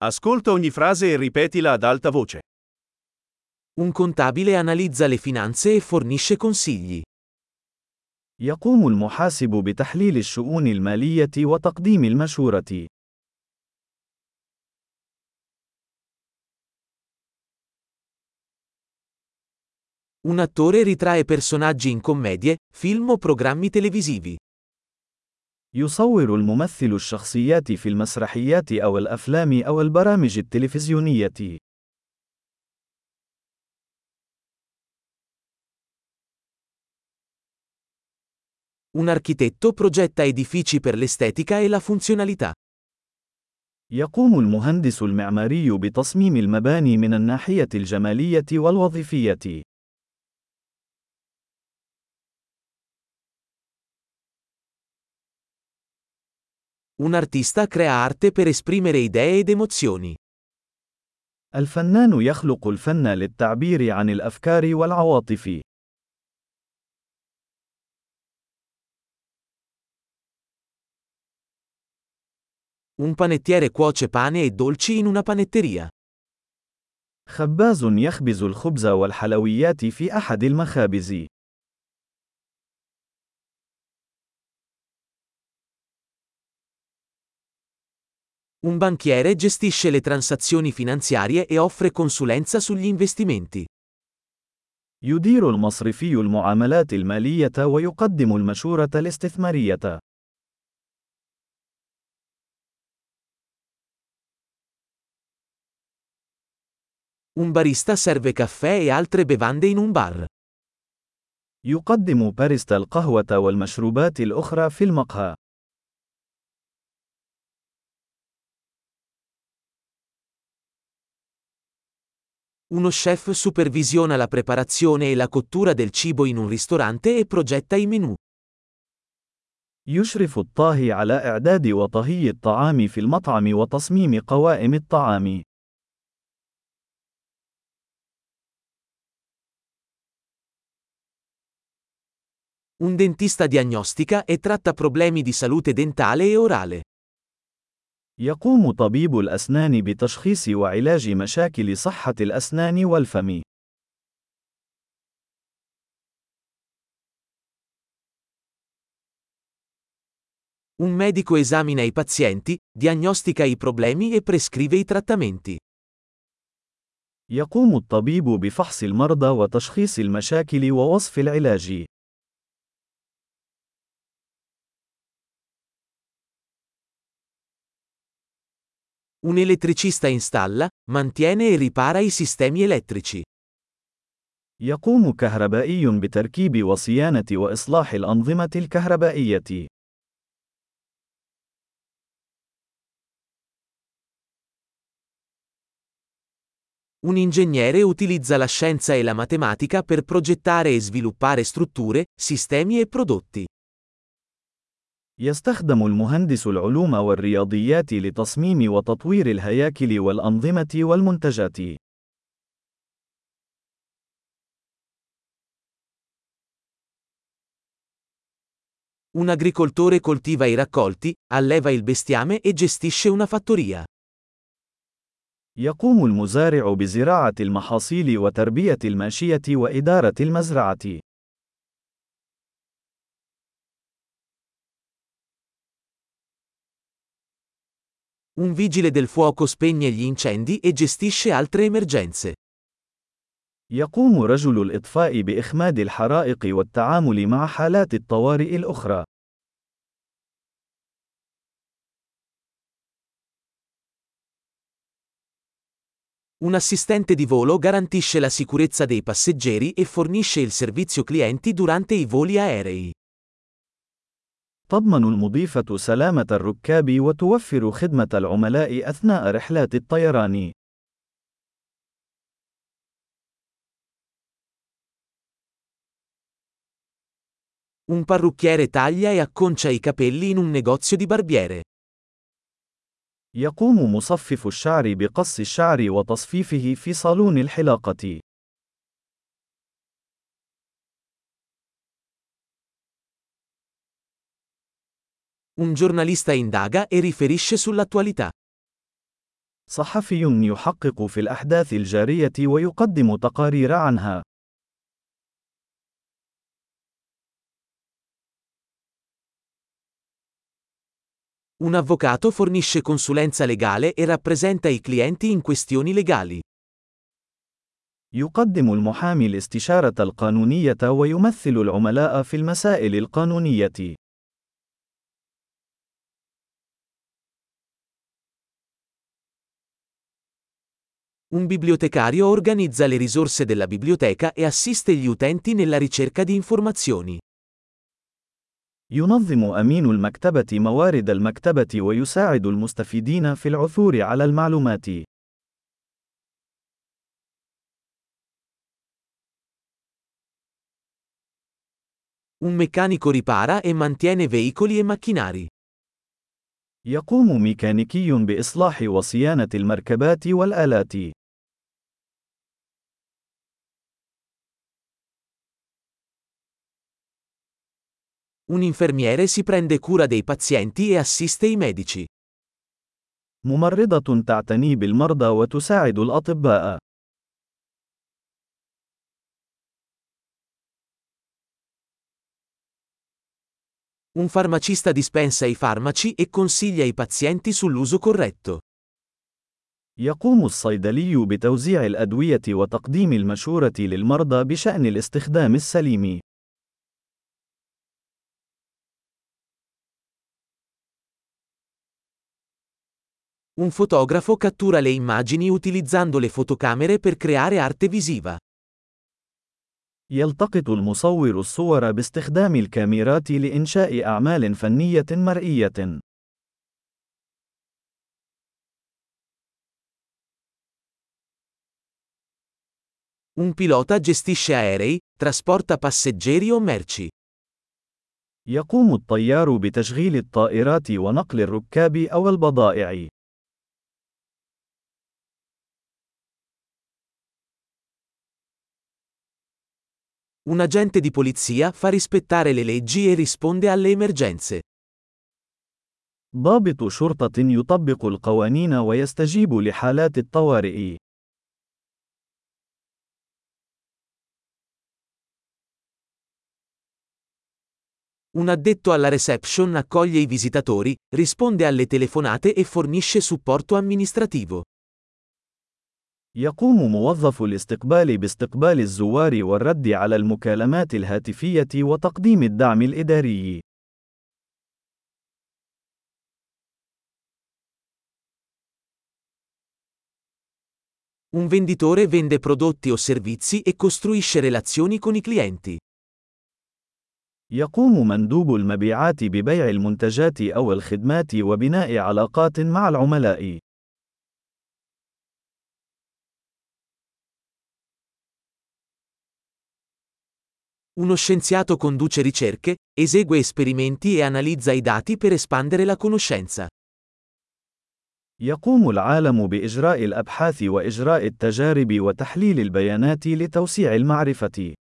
Ascolta ogni frase e ripetila ad alta voce. Un contabile analizza le finanze e fornisce consigli. يقوم المحاسب بتحليل الشؤون المالية وتقديم المشورة. Un attore ritrae personaggi in commedie, film o programmi televisivi. يصور الممثل الشخصيات في المسرحيات أو الأفلام أو البرامج التلفزيونية. Un architetto progetta edifici per l'estetica e la funzionalità. يقوم المهندس المعماري بتصميم المباني من الناحية الجمالية والوظيفية. Un artista crea arte per esprimere idee ed emozioni. الفنان يخلق الفن للتعبير عن الأفكار والعواطف. Un panettiere cuoce pane e dolci in una panetteria. خباز يخبز الخبز والحلويات في أحد المخابز. Un banchiere gestisce le transazioni finanziarie e offre consulenza sugli investimenti. يدير المصرفي المعاملات المالية ويقدم المشورة الاستثمارية. Un barista serve caffè e altre bevande in un bar. يقدم باريستا القهوة والمشروبات الأخرى في المقهى. Uno chef supervisiona la preparazione e la cottura del cibo in un ristorante e progetta i menù. يشرف الطاهي على إعداد وطهي الطعام في المطعم وتصميم قوائم الطعام. Un dentista diagnostica e tratta problemi di salute dentale e orale. يقوم طبيب الأسنان بتشخيص وعلاج مشاكل صحة الأسنان والفم. Un medico esamina i pazienti, diagnostica i problemi e prescrive i trattamenti. يقوم الطبيب بفحص المرضى وتشخيص المشاكل ووصف العلاج. Un elettricista installa, mantiene e ripara i sistemi elettrici. يقوم كهربائي بتركيب وصيانة وإصلاح الأنظمة الكهربائية. Un ingegnere utilizza la scienza e la matematica per progettare e sviluppare strutture, sistemi e prodotti. يستخدم المهندس العلوم والرياضيات لتصميم وتطوير الهياكل والأنظمة والمنتجات. Un agricoltore coltiva i raccolti, alleva il bestiame e gestisce una fattoria. يقوم المزارع بزراعة المحاصيل وتربية الماشية وإدارة المزرعة. Un vigile del fuoco spegne gli incendi e gestisce altre emergenze. يقوم رجل الإطفاء بإخماد الحرائق والتعامل مع حالات الطوارئ الأخرى. Un assistente di volo garantisce la sicurezza dei passeggeri e fornisce il servizio clienti durante i voli aerei. تضمن المضيفة سلامة الركاب وتوفر خدمة العملاء أثناء رحلات الطيران. Un parrucchiere taglia e acconcia i capelli in un negozio di barbiere. يقوم مصفف الشعر بقص الشعر وتصفيفه في صالون الحلاقة. Un giornalista indaga e riferisce sull'attualità. صحفي يحقق في الأحداث الجارية ويقدم تقارير عنها. Un avvocato fornisce consulenza legale e rappresenta i clienti in questioni legali. يقدم المحامي الاستشارة القانونية ويمثل العملاء في المسائل القانونية. Un bibliotecario organizza le risorse della biblioteca e assiste gli utenti nella ricerca di informazioni. ينظم أمين المكتبة موارد المكتبة ويساعد المستفيدين في العثور على المعلومات. Un meccanico ripara e mantiene veicoli e macchinari. يقوم ميكانيكي بإصلاح وصيانة المركبات والآلات. Un infermiere si prende cura dei pazienti e assiste i medici. ممرضة تعتني بالمرضى وتساعد الأطباء. Un farmacista dispensa i farmaci e consiglia i pazienti sull'uso corretto. يقوم الصيدلي بتوزيع الأدوية وتقديم المشورة للمرضى بشأن الاستخدام السليم. Un fotografo cattura le immagini utilizzando le fotocamere per creare arte visiva. يلتقط المصور الصور باستخدام الكاميرات لإنشاء أعمال فنية مرئية. Un pilota gestisce aerei, trasporta passeggeri o merci. يقوم الطيار بتشغيل الطائرات ونقل الركاب أو البضائع. Un agente di polizia fa rispettare le leggi e risponde alle emergenze. ضابط شرطة يطبق القوانين ويستجيب لحالات الطوارئ. Un addetto alla reception accoglie i visitatori, risponde alle telefonate e fornisce supporto amministrativo. يقوم موظف الاستقبال باستقبال الزوار والرد على المكالمات الهاتفية وتقديم الدعم الإداري. Un venditore vende prodotti o servizi e costruisce relazioni con i clienti. يقوم مندوب المبيعات ببيع المنتجات أو الخدمات وبناء علاقات مع العملاء. Uno scienziato conduce ricerche, esegue esperimenti e analizza i dati per espandere la conoscenza. يقوم العالم بإجراء الأبحاث وإجراء التجارب وتحليل البيانات لتوسيع المعرفة.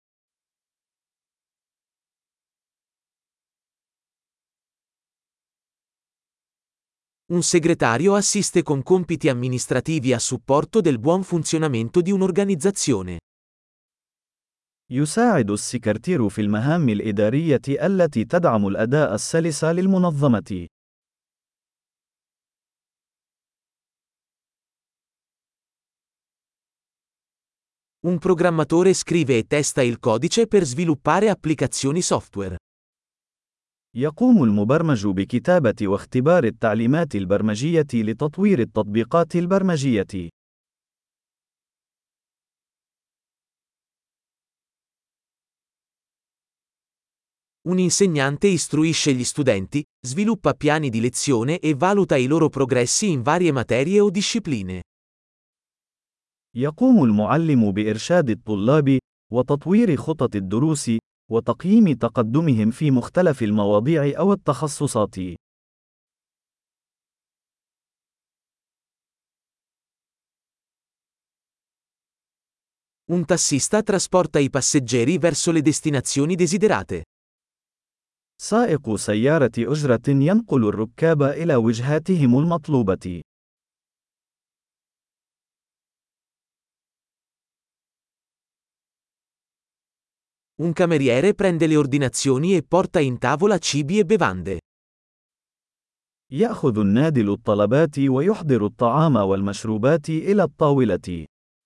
Un segretario assiste con compiti amministrativi a supporto del buon funzionamento di un'organizzazione. يساعد السكرتير في المهام الإدارية التي تدعم الأداء السلس للمنظمة. Un programmatore scrive e testa il codice per sviluppare applicazioni software. يقوم المبرمج بكتابة واختبار التعليمات البرمجية لتطوير التطبيقات البرمجية. Un insegnante istruisce gli studenti, sviluppa piani di lezione e valuta i loro progressi in varie materie o discipline. يقوم المعلم بإرشاد الطلاب، وتطوير خطط الدروس، وتقييم تقدمهم في مختلف المواضيع أو التخصصات. Un tassista trasporta i passeggeri verso le destinazioni desiderate. سائق سيارة أجرة ينقل الركاب إلى وجهاتهم المطلوبة. Un cameriere prende le ordinazioni e porta in tavola cibi e bevande. يأخذ النادل الطلبات ويحضر الطعام والمشروبات إلى الطاولة.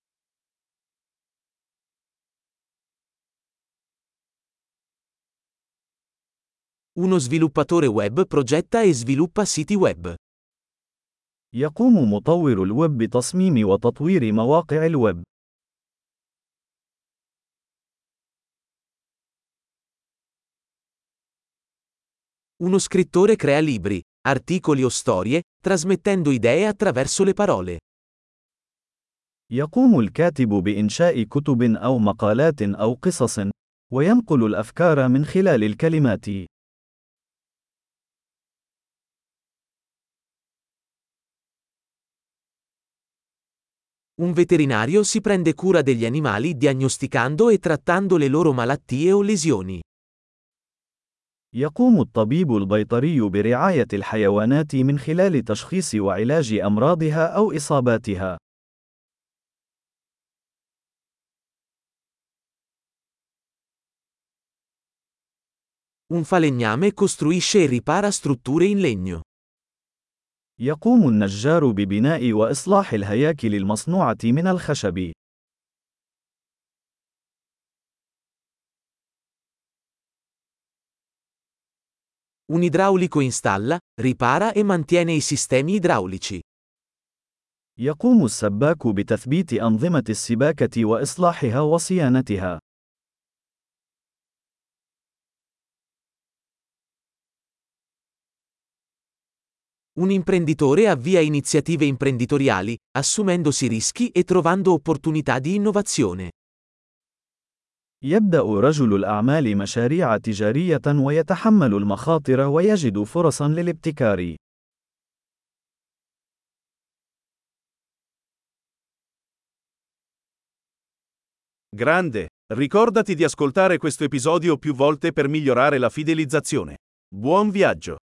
Uno sviluppatore web progetta e sviluppa siti web. يقوم مطور الويب بتصميم وتطوير مواقع الويب. Uno scrittore crea libri, articoli o storie, trasmettendo idee attraverso le parole. يقوم الكاتب بإنشاء كتب أو مقالات أو قصص، وينقل الأفكار من خلال الكلمات. Un veterinario si prende cura degli animali diagnosticando e trattando le loro malattie o lesioni. يقوم الطبيب البيطري برعاية الحيوانات من خلال تشخيص وعلاج أمراضها أو إصاباتها. Un falegname costruisce e ripara strutture in legno. يقوم النجار ببناء وإصلاح الهياكل المصنوعة من الخشب. Un idraulico installa, ripara e mantiene i sistemi idraulici. يقوم السباك بتثبيت أنظمة السباكة وإصلاحها وصيانتها. Un imprenditore avvia iniziative imprenditoriali, assumendosi rischi e trovando opportunità di innovazione. يبدأ رجل الأعمال مشاريع تجارية ويتحمل المخاطر ويجد فرصا للابتكار. Grande! Ricordati di ascoltare questo episodio più volte per migliorare la fidelizzazione. Buon viaggio!